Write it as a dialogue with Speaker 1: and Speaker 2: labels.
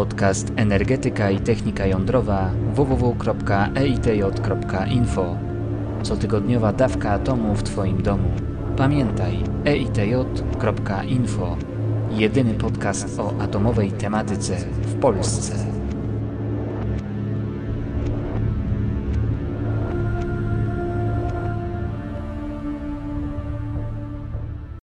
Speaker 1: Podcast Energetyka i Technika Jądrowa www.eitj.info. Cotygodniowa dawka atomu w Twoim domu. Pamiętaj, eitj.info. Jedyny podcast o atomowej tematyce w Polsce.